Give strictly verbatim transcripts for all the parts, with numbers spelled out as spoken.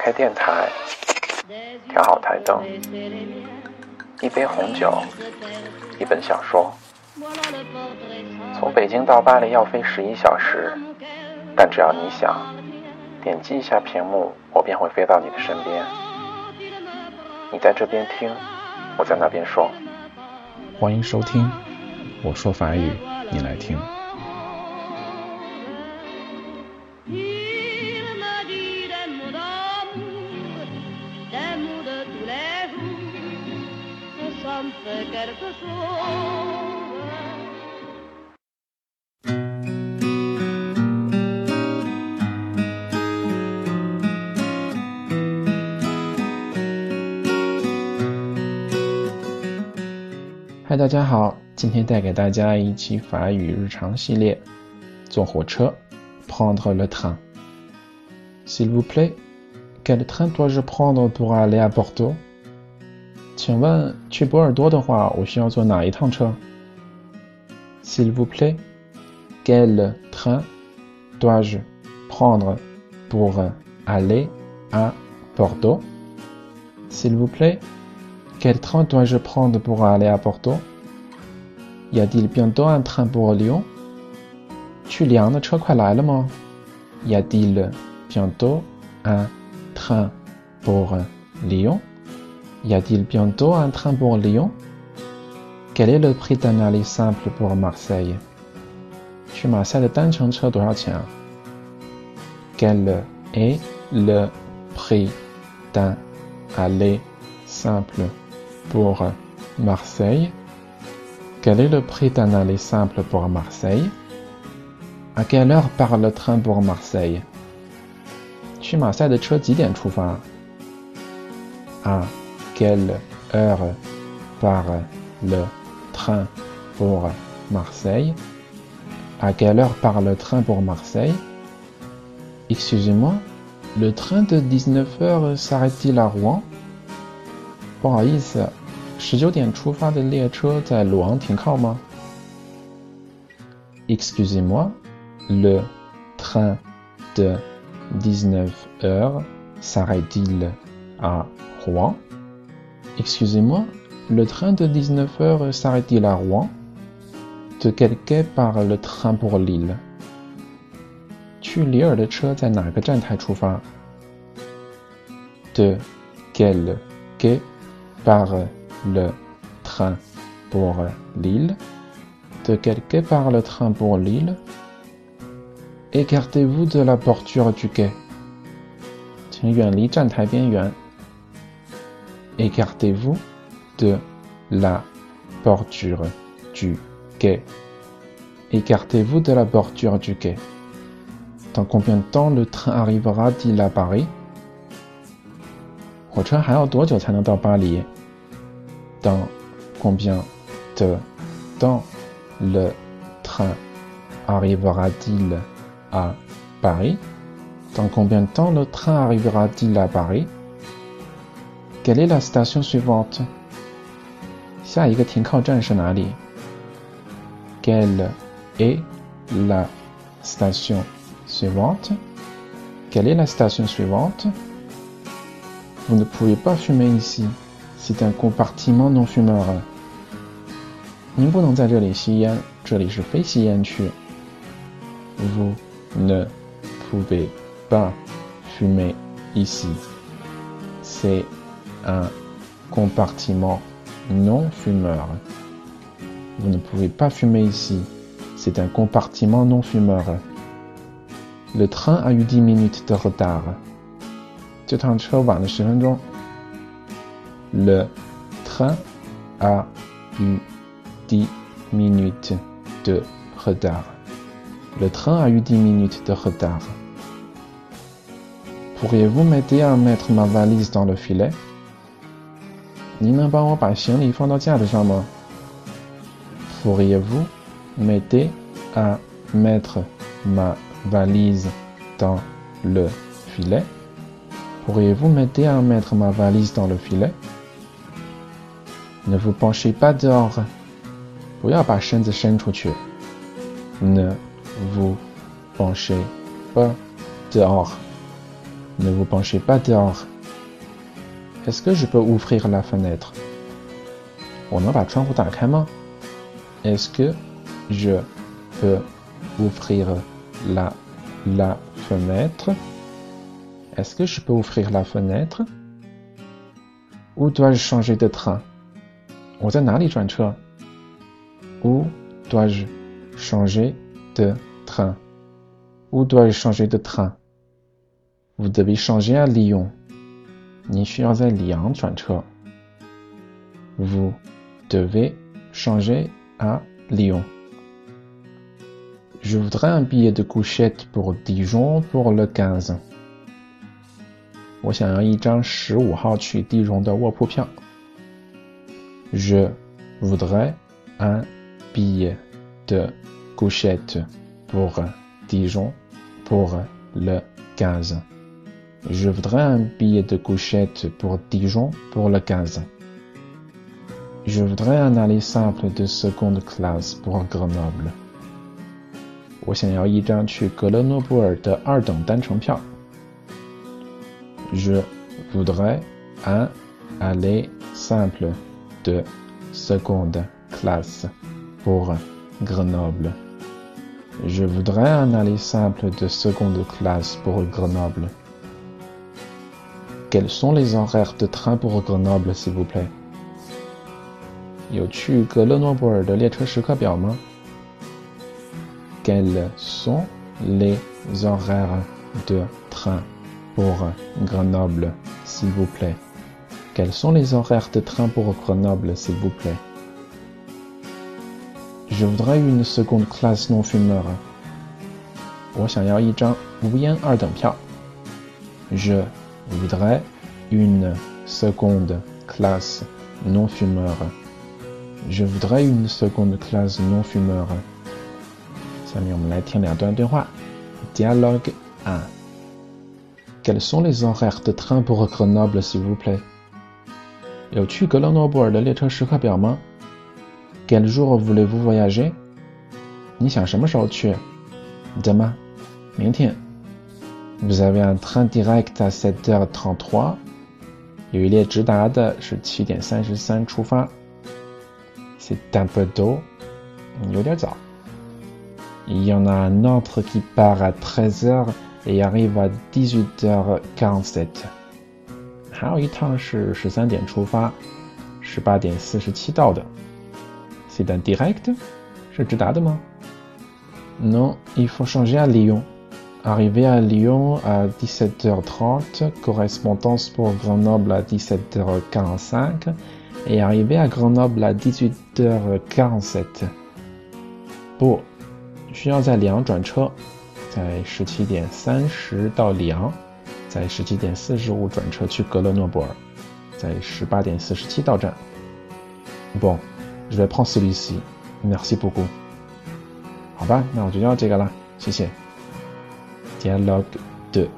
开电台，调好台灯，一杯红酒，一本小说。从北京到巴黎要飞十一小时，但只要你想，点击一下屏幕，我便会飞到你的身边。你在这边听，我在那边说。 欢迎收听，我说法语，你来听。嗨，大家好，今天带给大家一期法语日常系列，坐火车 prendre le train. S'il vous plaît, quel train dois-je prendre pour aller à Bordeaux? 请问去波尔多的话，我需要坐哪一趟车？ S'il vous plaît, quel train dois-je prendre pour aller à Bordeaux? S'il vous plaît, quel train dois-je prendre pour aller à Bordeaux? Y a-t-il bientôt un train pour Lyon? 去里昂的车快来了吗？ Y a-t-il bientôt un train pour Lyon? Y a-t-il bientôt un train pour Lyon? Quel est le prix d'un aller simple pour Marseille? 去马赛的单程车多少钱啊？ Quel est le prix d'un aller simple pour Marseille? Quel est le prix d'un aller simple pour Marseille? À quelle heure part le train pour Marseille? 去马赛的车几点出发？ À quelle heure part le train pour Marseille? À quelle heure part le train pour Marseille? Excusez-moi, le train de dix-neuf heures s'arrête-t-il à Rouen? 不好意思，十九点出发的列车在鲁昂停靠吗？ Excusez-moi, le train de dix-neuf heures s'arrête-t-il à Rouen? Excusez-moi, le train de dix-neuf heures s'arrête-t-il à Rouen? De quel quai part le train pour Lille? 去里尔的车在哪个站台出发？ De quel quai part le train pour Lille? De quel quai part le train pour Lille? Écartez-vous de la bordure du quai. 请远离站台边缘。Écartez-vous de la bordure du quai. Écartez-vous de la bordure du quai. Dans combien de temps le train arrivera-t-il à Paris? 火车还要多久才能到巴黎？ Dans combien de temps le train arrivera-t-il à Paris? Dans combien de temps le train arrivera-t-il à Paris? Quelle est la station suivante? 下一个停靠站是哪里？ Quelle est la station suivante? Quelle est la station suivante? Vous ne pouvez pas fumer ici. C'est un compartiment non fumeur. 您不能在这里吸烟，这里是非吸烟区。Vous ne pouvez pas fumer ici. C'est un compartiment non fumeur. Vous ne pouvez pas fumer ici. C'est un compartiment non fumeur. Le train a eu dix minutes de retard. 这趟车晚了十分钟。Le train a eu dix minutes de retard. Le train a eu dix minutes de retard. Pourriez-vous m'aider à mettre ma valise dans le filet? 您能帮我把行李放到架子上吗？ Pourriez-vous m'aider à mettre ma valise dans le filet? Pourriez-vous m'aider à mettre ma valise dans le filet? Ne vous penchez pas dehors. 不要把身子伸出去。Ne vous penchez pas dehors. Ne vous penchez pas dehors. Est-ce que je peux ouvrir la fenêtre? 我能把窗户打开吗？ Est-ce que je peux ouvrir la, la fenêtre? Est-ce que je peux ouvrir la fenêtre? Où dois-je changer de train? 我在哪里转车？ Où dois-je changer de train? Où dois-je changer de train? Vous devez changer à Lyon. 你需要在里昂转车。Vous devez changer à Lyon. Je voudrais un billet de couchette pour Dijon pour le quinze. 我想要一张十五号去地荣的卧铺票。Je voudrais un billet de couchette pour Dijon pour le quinze. Je voudrais un billet de couchette pour Dijon pour le quinze. Je voudrais un aller simple de seconde classe pour Grenoble. 我想要一张去格勒诺布尔的二等单程票。Je voudrais un aller simple de seconde classe pour Grenoble. Je voudrais un aller simple de seconde classe pour Grenoble. Quels sont les horaires de train pour Grenoble, s'il vous plaît? 有去格勒诺布尔的列车时刻表吗？ Quels sont les horaires de train pour Grenoble, s'il vous plaît? Quels sont les horaires de train pour Grenoble, s'il vous plaît? Je voudrais une seconde classe non fumeur. 我想要一张无烟二等票。Je voudrais une seconde classe non fumeur. Je voudrais une seconde classe non fumeur. 下面我们来听两段对话。Dialogue un. Quels sont les horaires de train pour Grenoble, s'il vous plaît? 有去格勒诺布尔的列车时刻表吗？ Quel jour voulez-vous voyager? 你想什么时候去？ Demain. 明天。Vous avez un train direct à sept heures trente-trois. 有一列直达的是七点三十三出发。C'est un peu tôt. 有点早。Il y en a un autre qui part à treize heures et arrive à dix-huit heures quarante-sept. 还有一趟是十三点出发，十八点四十七到的。C'est un direct? 是直达的吗？ Non, il faut changer à Lyon. Arriver à Lyon à dix-sept heures trente, correspondance pour Grenoble à dix-sept heures quarante-cinq et arriver à Grenoble à dix-huit heures quarante-sept. 不，需要在里昂转车，在十七点三十到里昂，在十七点四十五转车去格勒诺布尔，在十八点四十七到站。Bon, je vais prendre celui-ci. Merci beaucoup. 好吧，那我就要这个了，谢谢。Dialogue deux.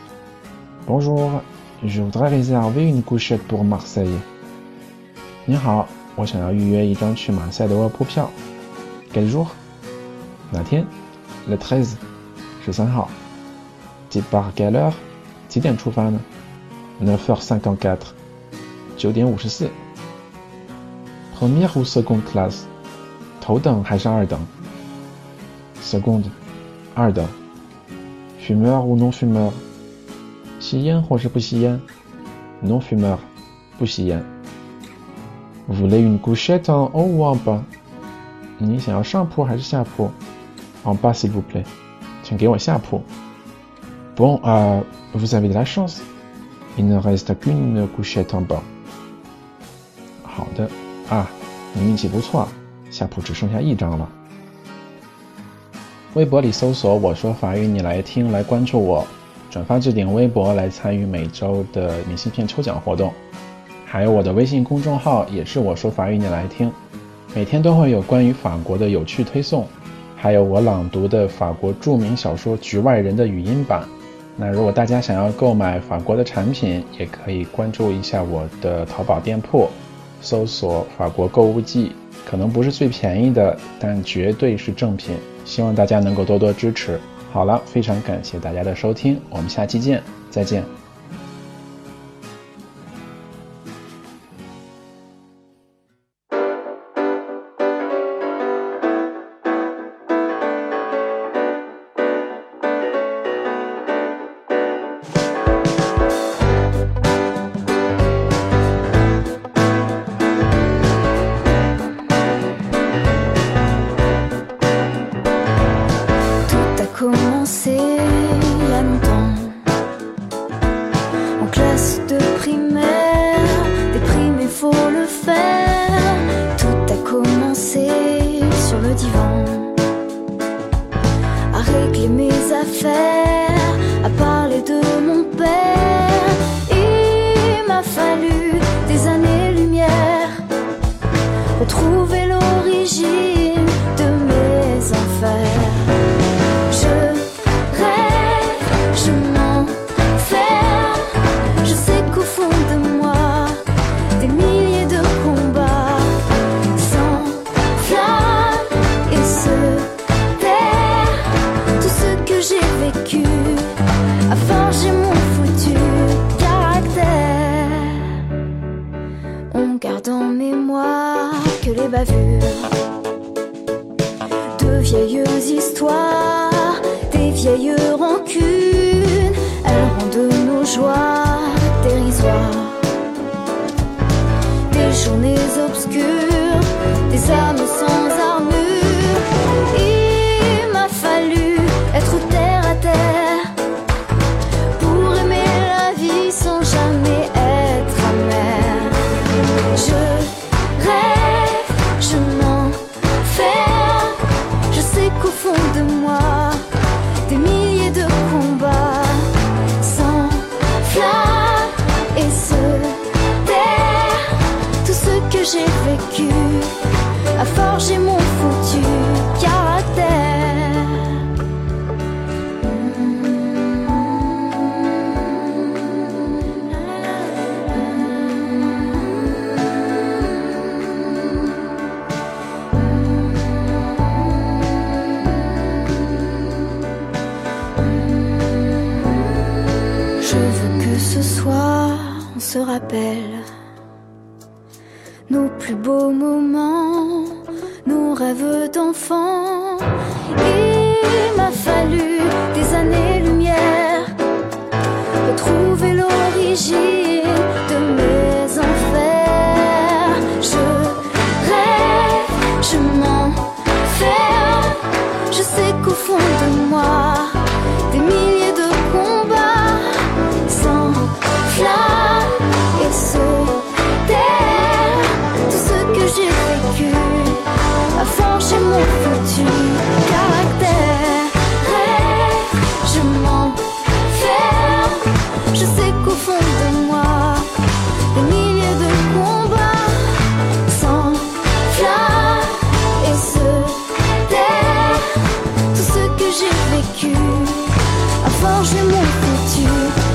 Bonjour, je voudrais réserver une couchette pour Marseille. 你好，我想要预约一张去马赛的卧铺票。Quel jour? 哪天 Le treize. 十三号。Départ quelle heure? 几点出发呢 neuf heures cinquante-quatre. 九点五十四。Première ou seconde classe? 头等还是二等 Seconde. 二等。Fumeur ou non fumeur? 吸烟或是不吸烟 Non fumeur. 不吸烟。Voulez une couchette en haut ou en bas? 你想要上铺还是下铺 En bas s'il vous plaît. 请给我下铺。Bon, euh, vous avez de la chance. Il ne reste qu'une couchette en bas. 好的啊，你运气不错，下铺只剩下一张了。微博里搜索我说法语你来听来关注我，转发置顶微博来参与每周的明信片抽奖活动。还有我的微信公众号也是我说法语你来听，每天都会有关于法国的有趣推送，还有我朗读的法国著名小说《局外人》的语音版。那如果大家想要购买法国的产品，也可以关注一下我的淘宝店铺，搜索法国购物季，可能不是最便宜的，但绝对是正品，希望大家能够多多支持。 好了，非常感谢大家的收听，我们下期见，再见。 Commencé il y a longtemps, en classe de primaire, déprimé faut le faire. Tout a commencé sur le divan, à régler mes affaires, à parler de mon père. Il m'a fallu des années-lumière, retrouver l'origine de mes enfers. A forger mon futur caractère, on garde en mémoire que les bavures de vieilles histoires, des vieilles rancunes, elles rendent nos joies dérisoires. Des journées obscures, des âmes sans armure. Il m'a fallu être terre à terre pour aimer la vie sans jamais être amer. Je rêve, je m'enferme, je sais qu'au fond de moi des milliers de combats s'enflamment et se terrent. Tout ce que j'ai vécu a forgé mon futur caractère. Ce soir, on se rappelle nos plus beaux moments, nos rêves d'enfants. Il m'a fallu des années-lumière, retrouver l'origine de mes enfers. Je rêve, je m'enferme, je sais qu'au fond de moi des milliers de combats s'enflamment et se terrent. Tout ce que j'ai vécu a forgé mon futur caractère. Rêve, je m'enferme, je sais qu'au fond de moi des milliers de combats s'enflamment et se terrent. Tout ce que j'ai vécu a forgé mon futur